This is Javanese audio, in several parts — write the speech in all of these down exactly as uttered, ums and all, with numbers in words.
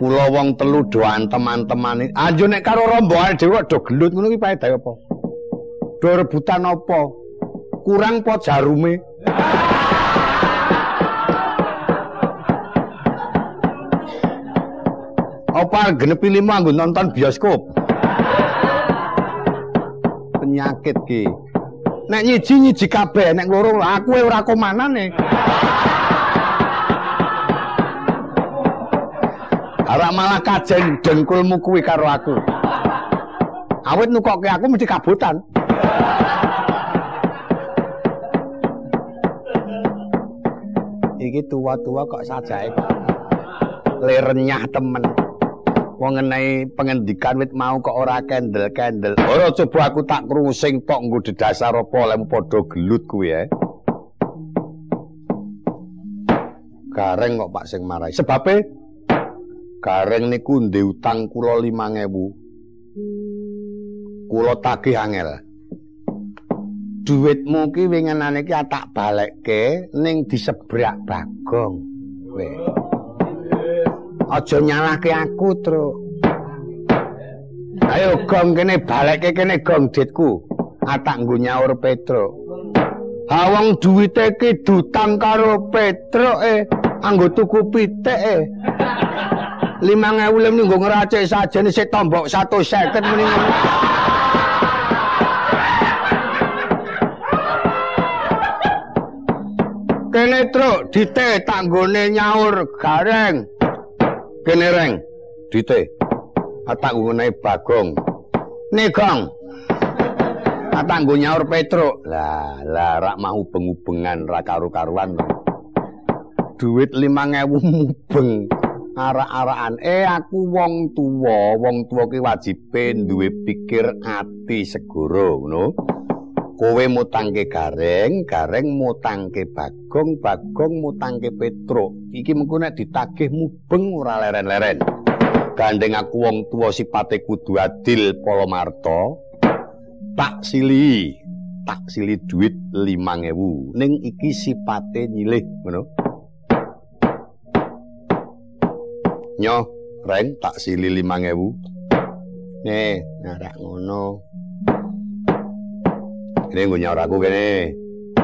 Kula wong telu doan teman-teman. Anjo nek karo rombongan dhewe do gelut ngono ki paedahe apa? Do rebutan apa? Kurang po jarume. Apa genepi lima nggo nonton bioskop? Penyakit ki. Nek nyiji-nyiji kabeh, nek loro aku ora komanane. Ora malah kajen dengkulmu kuwi karo aku. Awit nukokke aku mesti kabutan. Iki tua-tua kok sajake kok lerenyah temen. Wong ngenai pengendikan wit mau kok ora kendel-kendel. Ora coba aku tak krungu sing tok nggo dedasar apa lemu padha gelut kuwi ya. Gareng kok Pak sing marahi. Sebabe Gareng niku ndek utang kula limang ewu. Kula tagih angel. Duitmu ki winginane ki tak balekke ning disebrak Bagong. Kowe. Aja nyalahke aku, Truk. Ayo Gong kene balekke kene Gong ditku. Atak nggo nyaur Petruk. Ha wong duwite ki dutang karo Petruk e, anggo tuku pitik e. limang ewu lem nggo ngracik sajane sik tombok seratus seket muni ngono. Kene Truk, dite tak nggone nyaur Gareng. Kene Reng, dite. Tak nggone Bagong. Nih Gong. Tak nggo nyaur Petruk. Lah, lah rak mau ubeng-ubengan ra karu-karuan. Duit limang ewu mubeng. Arak-arakan. Eh aku wong tuwa, wong tuwa ki wajibe duwe pikir ati segara, ngono. Kowe mutangke Gareng, Gareng mutangke Bagong, Bagong mutangke Petruk. Iki mengko nek ditagih mubeng ora leren-leren. Gandeng aku wong tuwa sipate kudu adil Polomarto. Tak sili, tak sili duit limang ewu. Ning iki sipate nyilih, ngono. Nyo, Reng tak sili limang ewu. Nih, narak ngono. Ini nggo nyaur aku kene.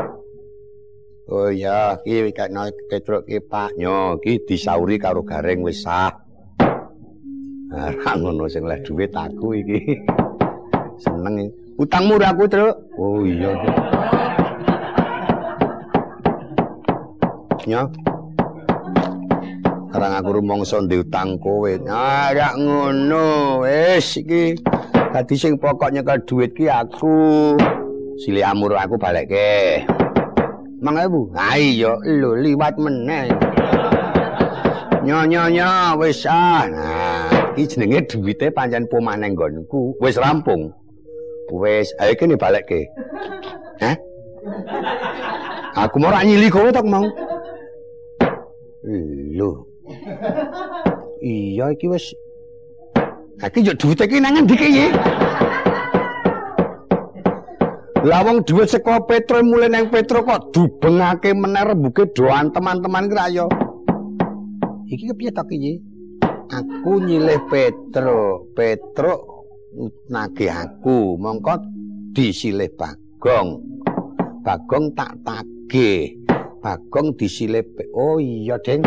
Oh iya, ki kena Petruk ki Pak Nyo, ki disauri karo Gareng wis sah. Ora ngono sing leh dhuwit aku iki. Seneng. Utangmu ora aku, Truk. Oh iya. Nyo. Karang aku rumangsa ndek utang kowe. Ah, ora ngono. Wis iki dadi sing pokok nyekel dhuwit ki aku. Sili amur aku balekke. Mang ewu. Ha iya, lho liwat meneh. Nyo nyo nyo wis ah. Nah, iki jenenge dhuwite pancen pomane nggonku. Wis rampung. Wis, ayo kene balekke. Hah? Aku mau ora nyili kowe tok mau. Lho. Iya iki wis. Iki yo dhuwite iki nang endi iki? Lah wong dhuwit saka Petruk mulih nang Petruk kok dubengake meneh rembuke doan teman-teman ki ra yo. Iki kepiye to iki? Aku nyilih Petruk, Petruk nagih aku, mongko disilih Bagong. Bagong tak tagih. Bagong disilih. Oh iya, Deng.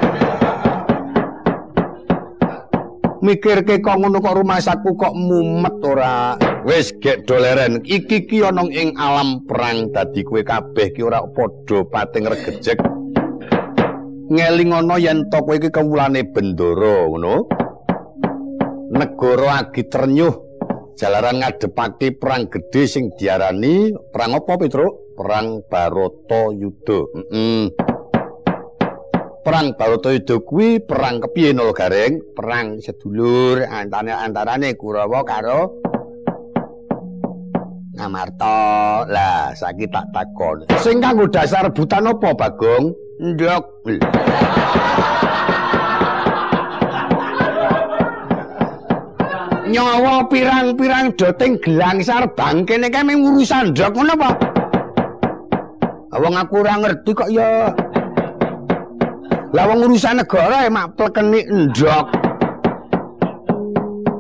Mikirke kok ngono kok rumasaku kok mumet ora. Wis gek doleren. Iki ki ana ing alam perang dadi kowe kabeh ki ora padha pating regejek. Ngelingono yen to kowe iki kawulane bendara, ngono. Negara agi trenyuh jalaran ngadepake perang gedhe sing diarani perang apa, Petruk? Perang Baratayuda. Heeh. Perang Baratayuda kuwi perang kepiye no Gareng? Perang sedulur antane antarane Kurawa karo Ngamarta. Lah, saiki tak takon. Sing kanggo dasar rebutan apa, Bagong? Ndok. Nyawa pirang-pirang doting gelangsar bangkene kae mung urusan ndok ngono apa? Wong aku ora ngerti kok ya. Lah wong urusan negara mak plekeni ndok.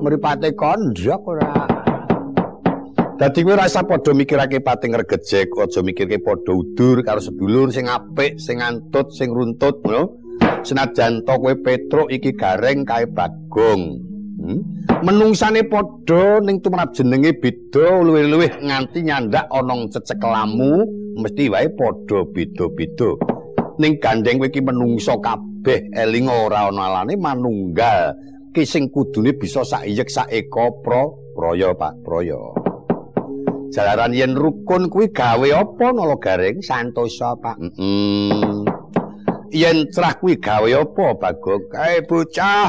mripate kondhok ora. Dadi kowe ora usah padha mikirake pati ngregejek, aja mikirke padha udur karo sedulur sing apik, sing antut, sing runtut, ngono. Senajan to kowe Petruk iki Gareng kae Bagong. Hmm? Menungsane padha ning tumrap jenenge beda luwih-luwih nganti nyandak ana cecek lamu, mesti wae padha beda-beda. Ning gandeng kowe iki menungso kabeh eling ora ana alane manunggal. Ki sing kudune bisa saiyek saeka pra praya Pak Praya. Jalaran yen rukun kuwi gawe apa nala Gareng santosa Pak. Heeh. Mm yen cerah kuwi gawe apa Bagong? Kae bocah.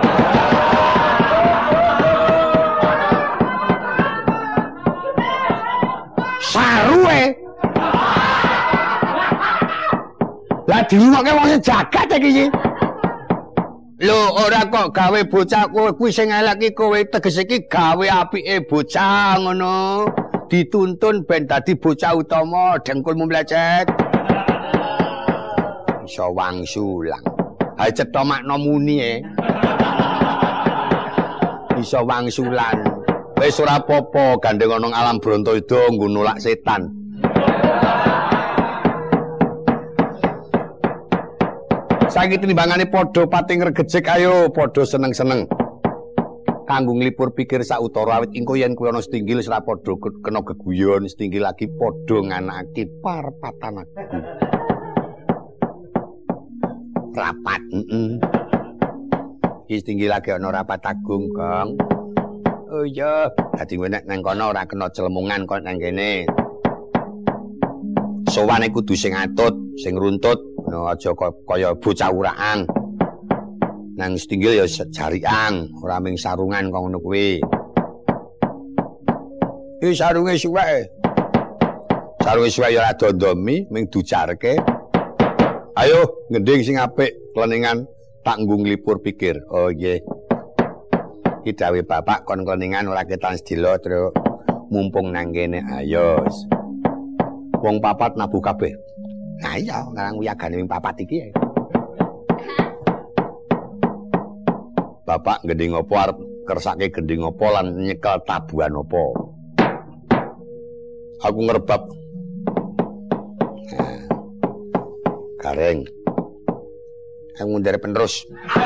Saruwe. Lah dirungokke wong jagat iki. Lho ora kok gawe bocah kowe kuwi sing elek iki kowe tegese iki gawe apike bocah ngono. Dituntun ben dadi bocah utama dengkulmu mlecet. Iso wangsulang. Ha cetha makna muni e. Iso wangsulan. Wis ora apa-apa gandeng ana alam Brontoida nggo nolak setan. Saiki timbangane padha pati ngregejek ayo padha seneng-seneng. Kanggo nglipur pikir sautara awit engko yen kuwi ana setinggil ora padha kena geguyon, setinggil lagi padha nganakake parpatan aku. Rapat, heeh. Iki setinggil lagi ana rapat agung, Gong. Oh iya, dadi kowe nek nang kono ora kena celemungan kok nang kene. Sowane kudu sing atut, sing runtut, no, aja kaya bocah uraang. Nang setinggil ya jariang, ora ming sarungan kok ngono kuwi. Iki sarunge suwek. Sarunge suwek ya ora dondomi, ming dujarke. Ayo, ngending sing apik, kleningan tak nggo nglipur pikir. Oh nggih. Iki dawuh bapak kon kleningan ora ketan sedilo terus mumpung nang kene ayo. Wong papat nabu kabeh. Nah iya, ngarang wiyagane wing papat iki. Bapak gending apa arep kersake gending apa lan nyekel tabuhan apa? Aku ngerebab. Nah. Gareng. Aku ngundare penerus.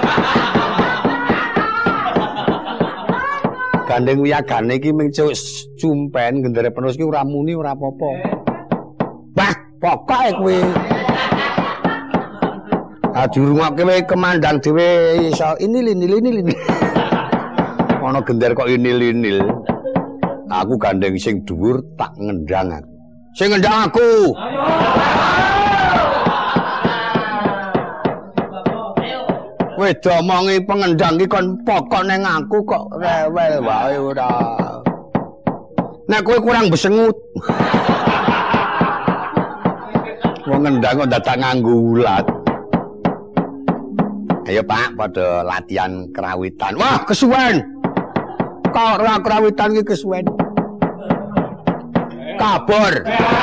Gandeng wiyagane iki ming cumpen gendere penerus iki ora muni ora apa-apa. Bah, pokoke kuwi. Ah dirungokke wae kemandang dhewe iso inil-inil-inil. Ana gender kok inil-inil. Aku gandeng sing dhuwur tak ngendang aku. Sing ngendang aku. Kowe domongi pengendang iki kon pokok ning aku kok rewel wae ora. Nek kowe kurang besengut. Wong ngendang kok dadak nganggo ulat. Ayo Pak, pada latihan kerawitan. Wah, kesuwen. Kok ora kerawitan iki kesuwen. Kabur.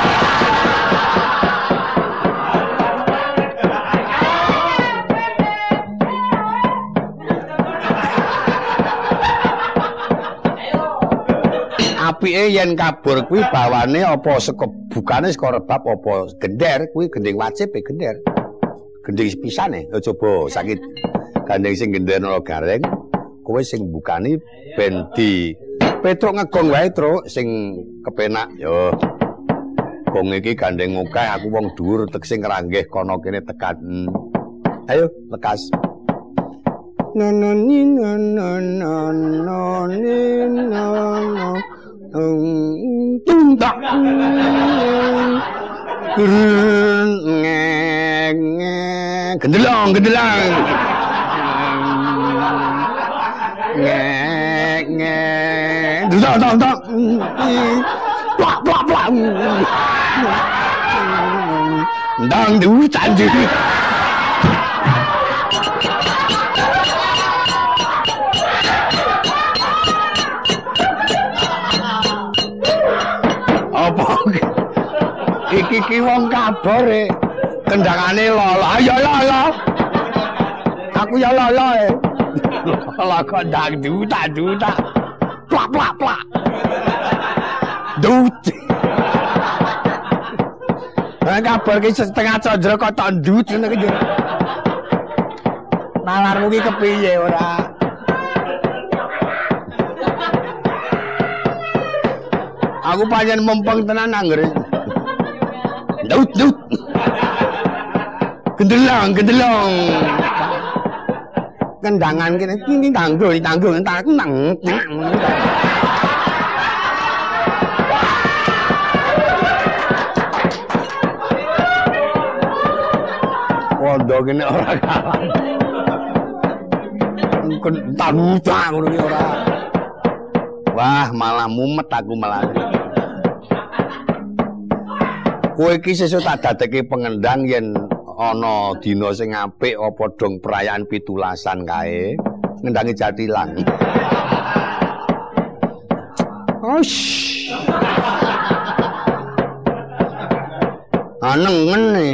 Apike yen kabur kuwi bawane apa saka bukane saka rebab apa gender kuwi gending wajib e gender. Gending pisane ya coba sakit gandeng sing gender nala Gareng kowe sing bukani ben di Petruk ngegong wae Truk sing kepenak yo gong iki gandeng akeh aku wong dhuwur tek sing ngranggeh kono kene tekan ayo lekas nanani nanani nanani tung tak gendelang gendelang ngek ngek tak tak tak plak plak plak ndang du canji apa iki ki wong kabur e kendangane lolo ayo lolo aku ya lolo e Lah kok dangdutan duta. Plak plak plak. Dut. Lah kabar ki setengah condro kok tok ndut ngene iki. Nalarmu ki kepiye ora? Aku pancen mempeng tenan anggere. Dut dut. Gendelong gendelong. Kendangan kene iki tanggo tanggo entar aku nang. Pondo kene ora kalah. Entar muda ngono ki ora. Wah, malah mumet aku malah. Kowe iki sesuk tak dadekke pengendang yen ana dina sing apik apa dong perayaan pitulasan kae ngendangi Jatilan. Osh. Anengen nih.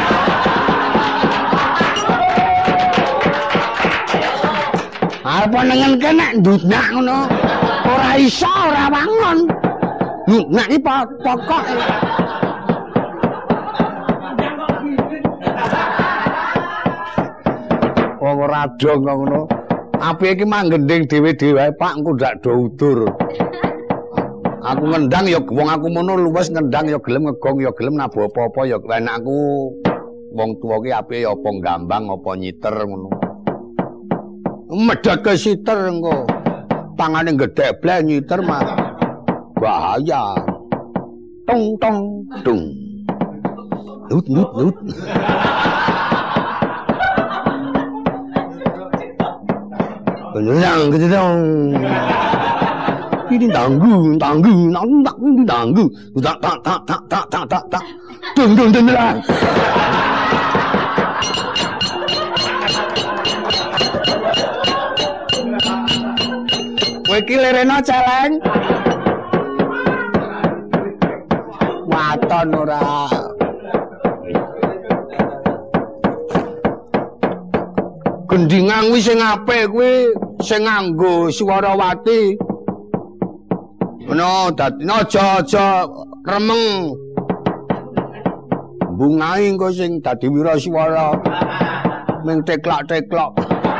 Apa nengen kene ndutnak ngono. Ora iso ora wangon. Ndutnak iki pokok. Wong ora dong ngono. Apike iki manggending dhewe-dhewe wae Pak engko ndak do udur. Aku ngendang ya wong aku mono luwes ngendang ya gelem ngegong ya gelem nabuh apa-apa ya enak aku. Wong tuwa ki apike ya apa gambang apa nyiter ngono. Medhot ke siter engko. Tangane gedhe bleh nyiter mah. Bahaya. Tong tong tung. Lut lut lut. Beneran gitu dong. Ini tanggu, tanggu, nanggung, ini tanggu. Tak, tak, tak, tak, tak, tak, tak, tak. Dung, dung, dung, dung. Kowe iki lerena celeng. Waton ora. Gendingan kuwi sing apik kuwi sing nganggo Swarawati. Ngono dadi aja aja remeng. Bungae engko sing dadi wiraswara. Ming teklak-teklok.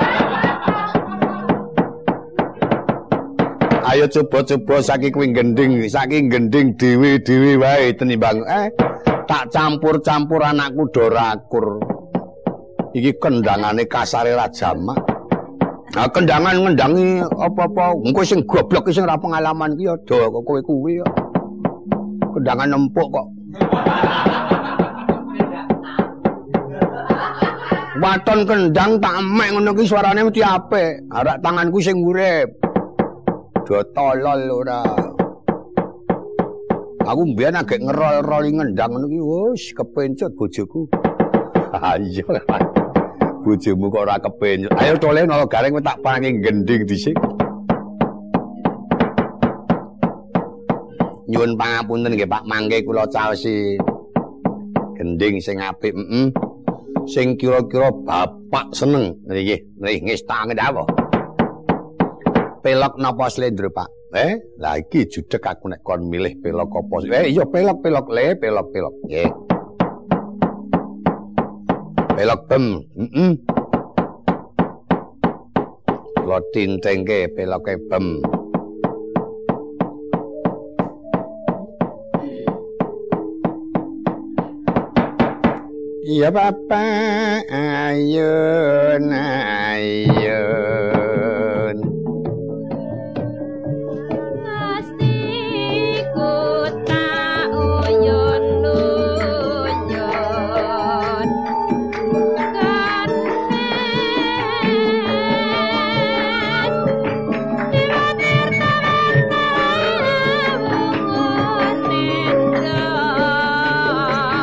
Ayo coba-coba saking kuwi gending, saking gending dhewe-dhewe wae tenimbang eh tak campur-campur anakku do rakur. Iki kendangane kasare ra jamak. Nah, kendangan ngendangi apa-apa, engko sing goblok sing ora pengalaman ki ya do kok kowe kuwi ya. Kendangan empuk kok. Waton kendang tak emek ngono ki suarane mesti apik. Arak tanganku sing urip. Do tolol ora. Aku mbiyen agek ngerol-roli ngendang ngono ki wis kepencet bojoku. Ayo. Bojomu kok ora kepencet. Ayo tole nolo gareng tak parangi gending dhisik. Nyuwun pangapunten nggih Pak, mangke kula caosi gending sing apik, heeh. Sing kira-kira Bapak seneng. Nggih, nggih ngesta ngendhawa. Pelok napa slendro, Pak? Eh, lah iki judeg aku nek kon milih pelok apa. Eh, iya pelok-pelok le, pelok-pelok. Nggih. Pelok bem, heeh. Lo tintengke peloke bem. Iya Bapak, ayun ayun.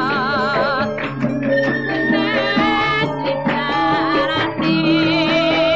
Yeah.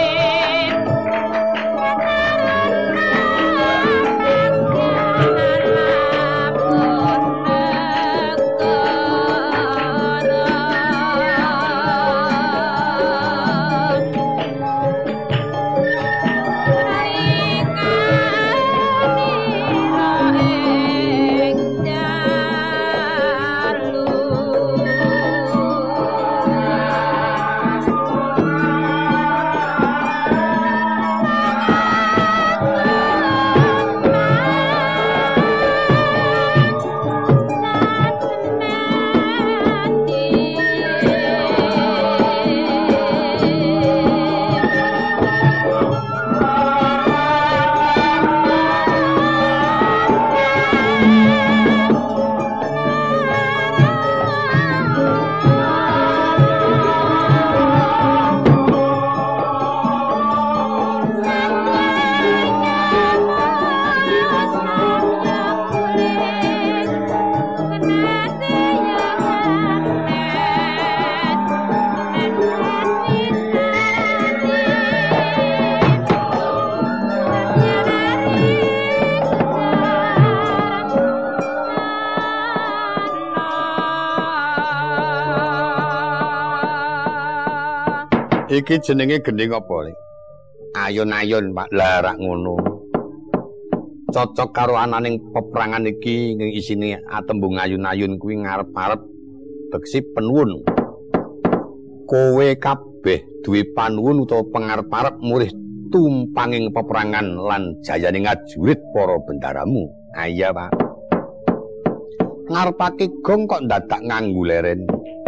Iki jenenge gending apa, Lik? Ayun-ayun, Pak. Lah rak ngono. Cocok karo ananing peperangan iki ning isine atembung ayun-ayun kuwi ngarep-arep beksi penuwun. Kowe kabeh duwe panuwun utawa pangarep-arep murih tumpanging peperangan lan jayaning ajurit para bendaramu. Ah iya, Pak. Ngarepake gong kok dadak nganggo leren.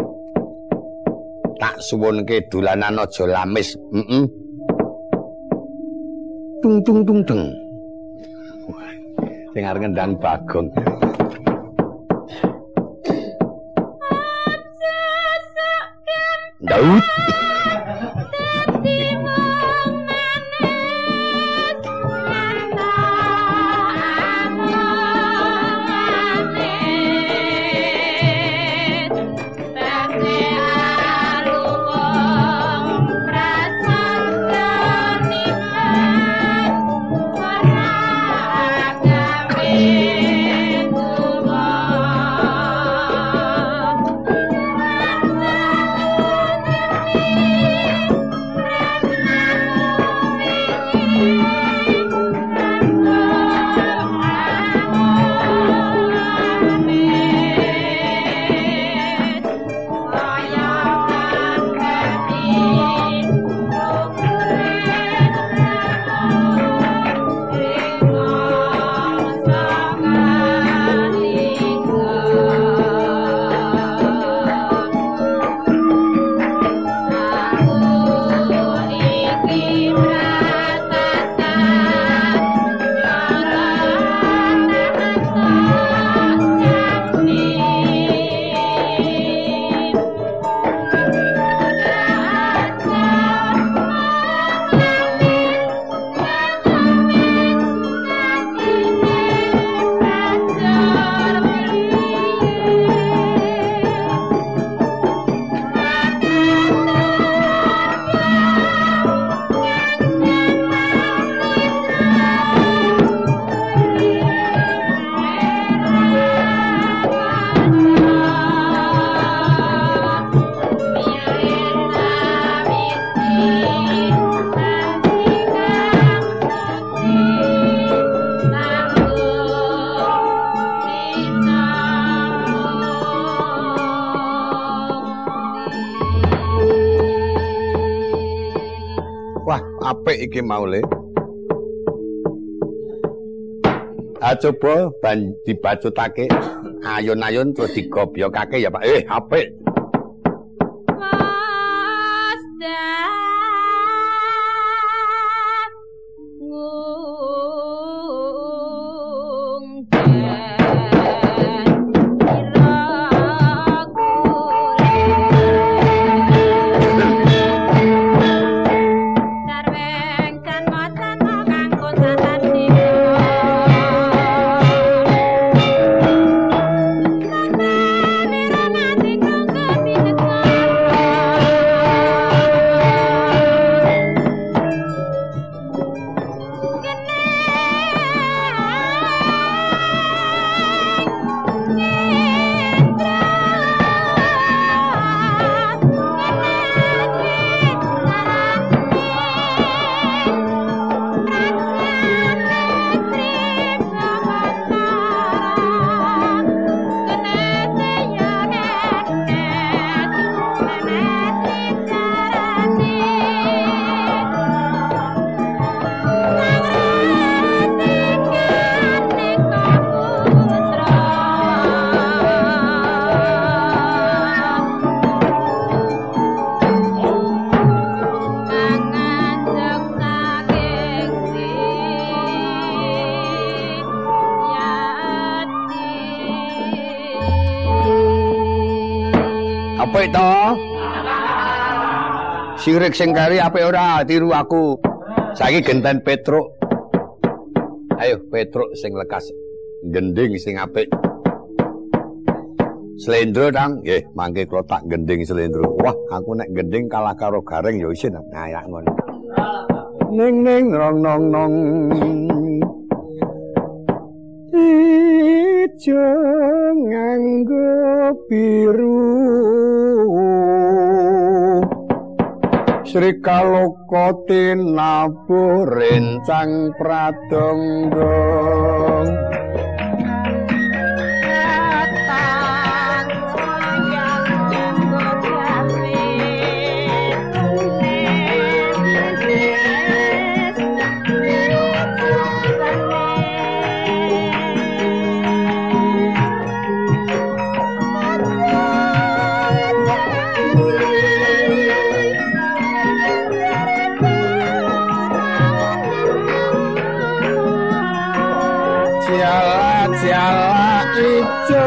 Tak suwunke dolanan aja lamis. Heeh. Tung tung tung tung. Sing arep ngendang Bagong. Daud. Apik iki mau Le. Ah coba ban dibacutake ayun-ayun terus digobyokake ya Pak. Eh apik. Apik to? Sirik sing kari apik ora tiru aku. Saiki genten Petruk. Ayo Petruk sing lekas. Gending sing apik. Slendro tang, nggih, mangke kula tak gending slendro. Wah, aku nek gending kalah karo Gareng ya isin. Nah, ya ngono. Ning ning rong nong nong. Ijo nganggo biru. Sri Kaloka tinabuh rencang pradangga jala ijo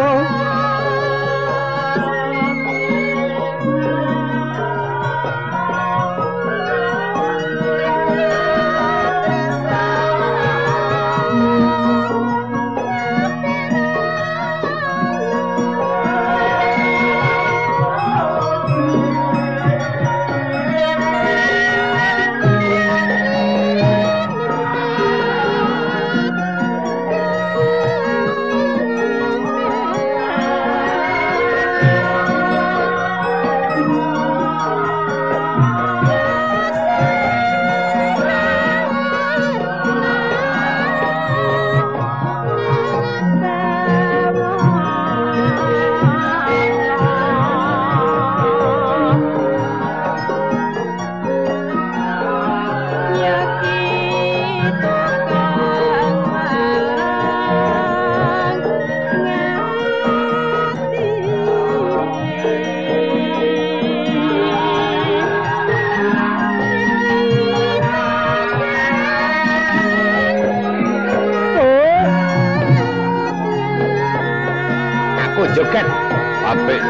joget apik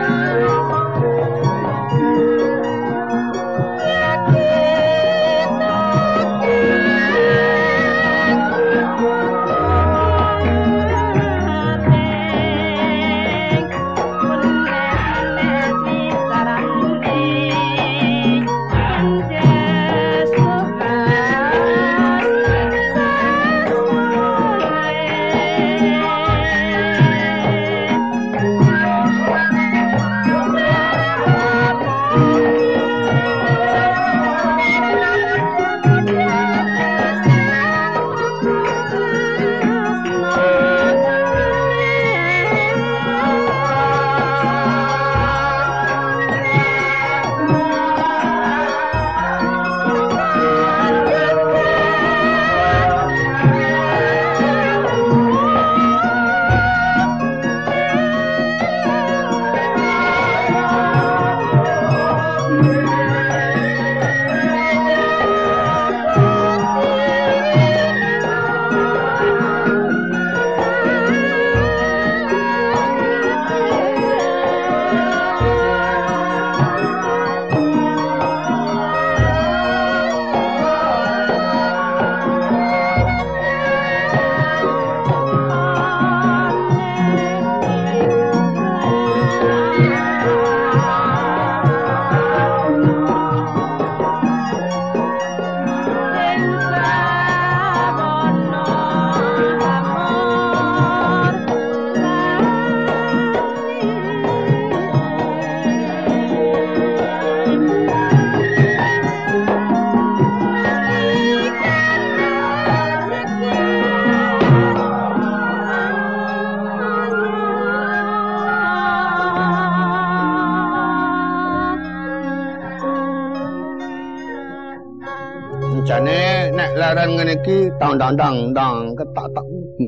jane nek leren ngene iki tang tang tang tang ketak tak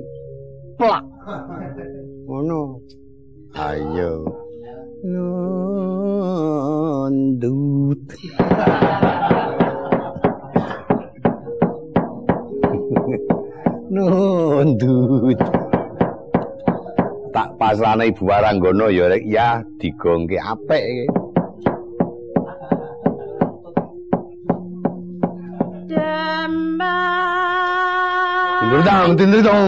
plak ngono ayo nundut nundut tak pasrane Ibu Waranggono ya rek ya digongke apik iki. Dang tindir dong.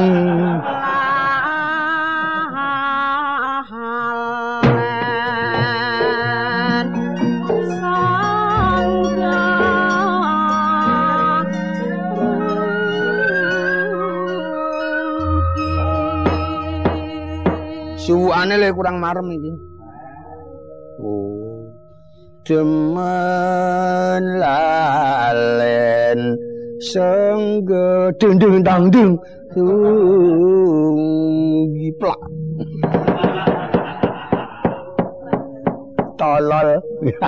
Suwane le kurang marem iki. Oh. demen lalen sengge dung dung dang dung giplak tolol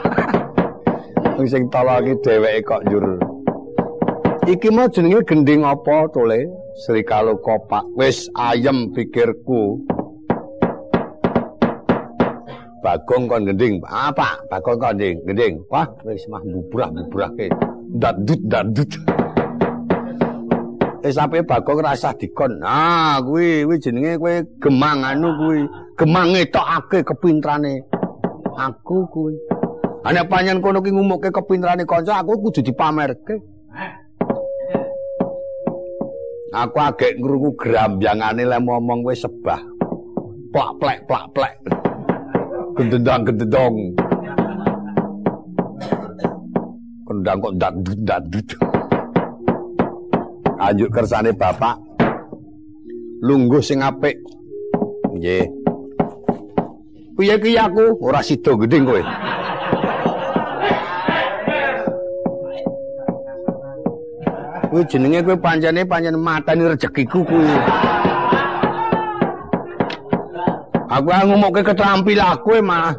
sing tolol iki dheweke kok njur iki mah jenenge gending apa tole Srikala Kopak wis ayem pikirku Bagong kon gending apa Bagong kon gending gending wah wis mah bubrah-bubrahke dadut dadut wis ape Bagong rasah dikon ah kuwi kuwi jenenge kowe gemang anu kuwi gemang ngetokake kepintrane aku kuwi ana panjen kono ki ngumukke kepintrane kanca aku kudu dipamerke aku agek ngrungu grambyangane le momong kowe sebah plak plek plak plek gendendang gendendong kendang kok dadut dadut anjuk kersane bapak lungguh sing apik nggih piye ki aku ora sida gedeng kowe kuwi jenenge kowe pancene pancen mateni rezekiku kuwi aku ngomongke keterampilan kowe mah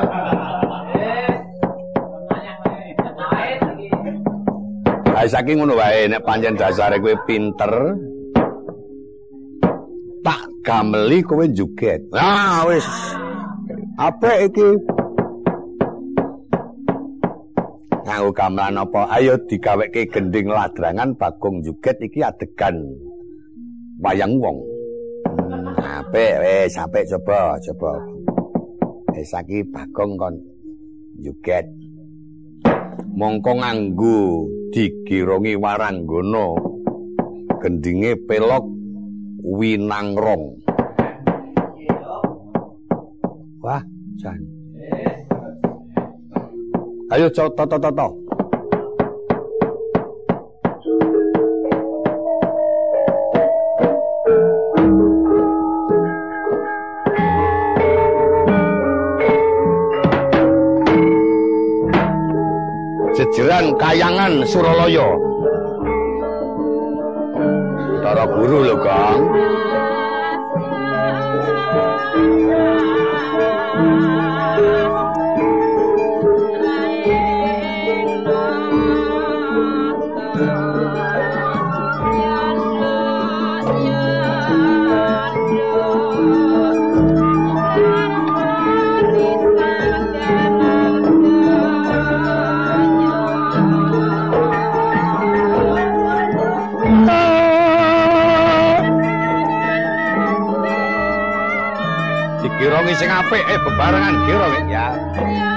ae saking ngono wae nek pancen dasare kowe pinter tak gameli kowe juget ah wis apik iki nganggo gamelan apa ayo digaweke gending ladrangan Bagong juget iki adegan wayang wong hmm, apik wis apik coba coba wis saiki Bagong kon juget mongko nganggo digirongi waranggana gendinge pelok winangrong wah jan ayo toto toto toto jejeran kayangan Suralaya Tara Guru lho Kang Kirong sing apik eh bebarengan kirong ya.